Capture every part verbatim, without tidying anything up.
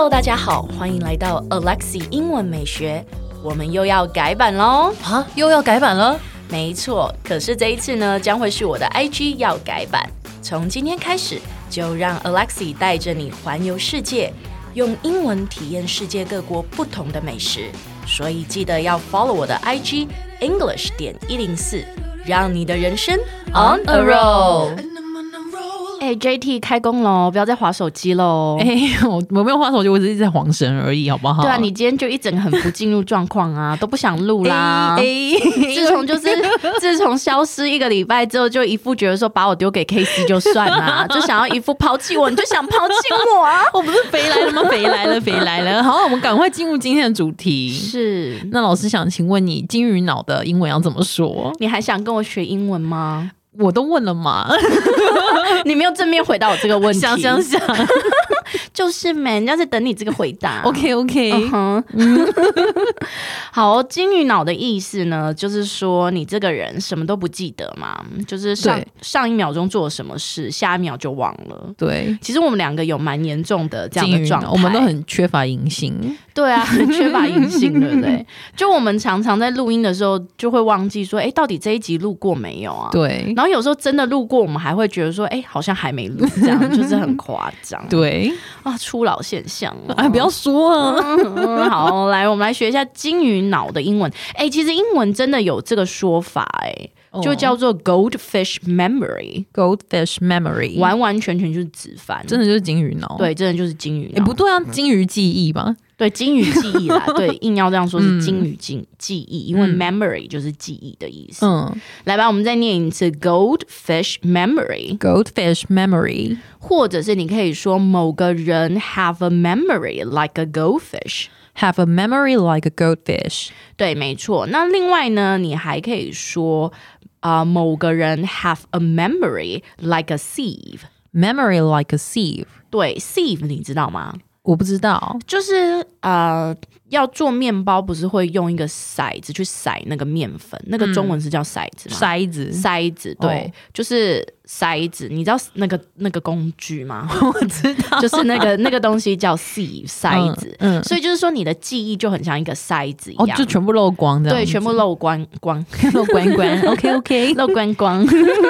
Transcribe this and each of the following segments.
Hello， 大家好，歡迎來到 Alexi 英文美學，我們又要改版嘍！ 啊，又要改版了？ 沒錯，可是這一次呢，將會是我的 I G 要改版。從今天開始，就讓 Alexi 帶着你環遊世界，用英文體驗世界各國不同的美食。所以記得要 follow 我的 I G English 點一零四，讓你的人生 on a roll。哎、欸、，J T 開工嘍，不要再滑手機嘍！ 哎、欸，我我沒有滑手機，我只是在晃神而已，好不好？ 對啊，你今天就一整個很不進入狀況啊，都不想錄啦。哎、欸，欸、自從就是自從消失一個禮拜之後，就一副覺得說把我丟給 K C 就算啦，就想要一副拋棄我，你就想拋棄我啊！ 我不是肥來了嗎？肥來了，肥來了！好，我們趕快進入今天的主題。 是， 那老師想請問你，金魚腦的英文要怎麼說？ 你還想跟我學英文嗎？ 我都問了嘛， 你沒有正面回答我這個問題。 想想想， 就是嘛，人家在等你這個回答。 OK OK，、uh-huh. 嗯、好，金魚腦的意思呢，就是說你這個人什麼都不記得嘛，就是上上一秒鐘做了什麼事，下一秒就忘了。對，其實我們兩個有蠻嚴重的這樣的狀態， 我們都很缺乏銀杏。 對啊，很缺乏銀杏，對不對？就我們常常在錄音的時候，就會忘記說，哎，到底這一集錄過沒有啊？對。然後有時候真的錄過，我們還會覺得說，哎，好像還沒錄，這樣就是很誇張。對啊，初老現象哦。哎， 不要說啊。 嗯、好，來，我們來學一下金魚腦的英文。哎，其實英文真的有這個說法，哎。就叫做 goldfish memory，goldfish memory， 完完全全就是直翻， 真的就是金魚腦。 對，真的就是金魚腦。 哎，不對啊，金魚記憶吧？ 對，金魚記憶啦。對，硬要這樣說是金魚記記憶，嗯、因為 memory 就是記憶的意思。嗯，來吧，我們再念一次 goldfish memory，goldfish memory， 或者是你可以說某個人 have a memory like a goldfish。Have a memory like a goldfish。對，沒錯。那另外呢，你還可以說啊、呃，某個人 have a memory like a sieve。Memory like a sieve。對 ，sieve 你知道嗎？ 我不知道， 就是呃，要做麵包不是會用一個篩子去篩那個麵粉，那個中文是叫篩子嗎？篩子，篩子，對，哦、就是篩子。你知道那個那個工具嗎？ 我知道， 就是那個那個東西叫 sieve 篩子。嗯，嗯，所以就是說你的記憶就很像一個篩子一樣，哦，就全部漏光的， 對，全部漏光光， 漏光光。OK OK， 漏光光。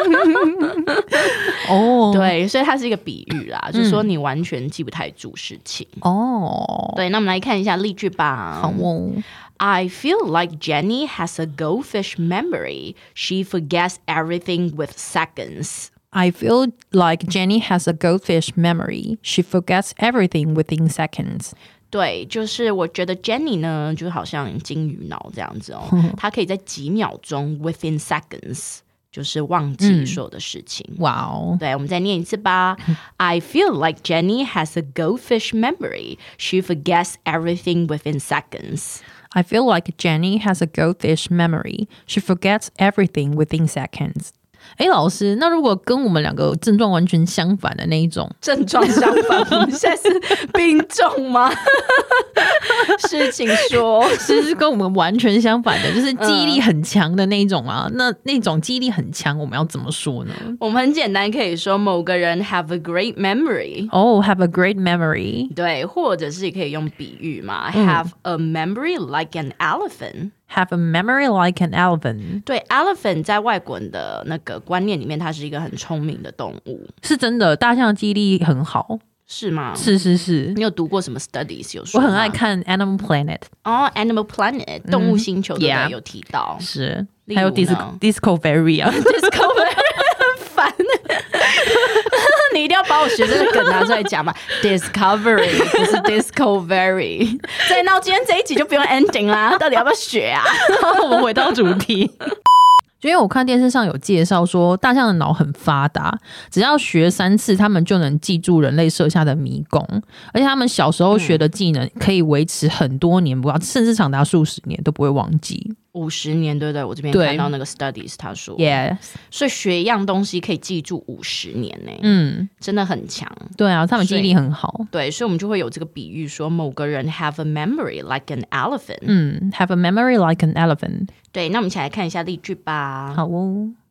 哦，對，所以它是一個比喻啦，嗯、就是說你完全記不太住事情。哦，對，那我們來看一下例句吧。 好哦。 I feel like Jenny has a goldfish memory. She forgets everything with seconds. I feel like Jenny has a goldfish memory. She forgets everything within seconds. 對，就是我覺得 Jenny 呢，就好像金魚腦這樣子哦，她可以在幾秒鐘 within seconds。就是忘記所有的事情。哇哦、嗯！對，我們再念一次吧。I feel like Jenny has a goldfish memory. She forgets everything within seconds. I feel like Jenny has a goldfish memory. She forgets everything within seconds. 哎，老師，那如果跟我們兩個症狀完全相反的那一種， 症狀相反，我們現在是病重嗎？是，請說， 是是跟我們完全相反的，就是記憶力很強的那一種啊。嗯、那那種記憶力很強，我們要怎麼說呢？ 我們很簡單，可以說某個人 have a great memory。 哦、oh, ，have a great memory。 對，或者是可以用比喻嘛、嗯、，have a memory like an elephant。Have a memory like an elephant。 對 ，elephant 在外國人的那個觀念裡面，它是一個很聰明的動物。 是真的，大象的記憶力很好， 是嗎？ 是是是。 你有讀過什麼 studies 有說嗎？ 我很愛看 Animal Planet。哦、 oh, ，Animal Planet 動物星球對不對、嗯、有提到。 Yeah, 是，還有 Disco Discovery 啊 ，Discovery 很煩。你一定要把我學這個梗拿出來講嘛 ？Discovery 不是 Discovery。所以那今天這一集就不用 ending 啦，到底要不要學啊？ 我們回到主題。就因為我看電視上有介紹說，大象的腦很發達，只要學三次，他們就能記住人類設下的迷宮，而且他們小時候學的技能可以維持很多年，不、嗯、甚至長達數十年都不會忘記。 五十年，對不對？我這邊看到那個 studies， 他說 ，yes， 所以學一樣東西可以記住五十年呢，嗯，真的很強。 對啊，他們記憶力很好。 對，所以我們就會有這個比喻說，某個人 have a memory like an elephant。 嗯 ，have a memory like an elephant。 對，那我們一起來看一下例句吧。 好哦。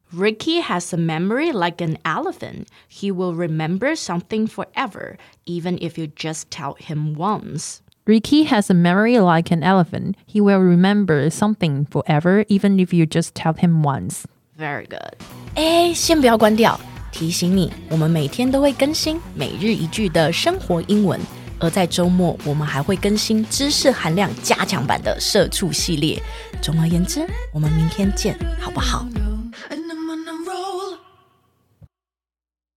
Ricky has a memory like an elephant. He will remember something forever, even if you just tell him once. Ricky has a memory like an elephant. He will remember something forever, even if you just tell him once. Very good. 哎，先不要關掉，提醒你，我們每天都會更新每日一句的生活英文，而在週末我們還會更新知識含量加強版的社畜系列。總而言之，我們明天見，好不好？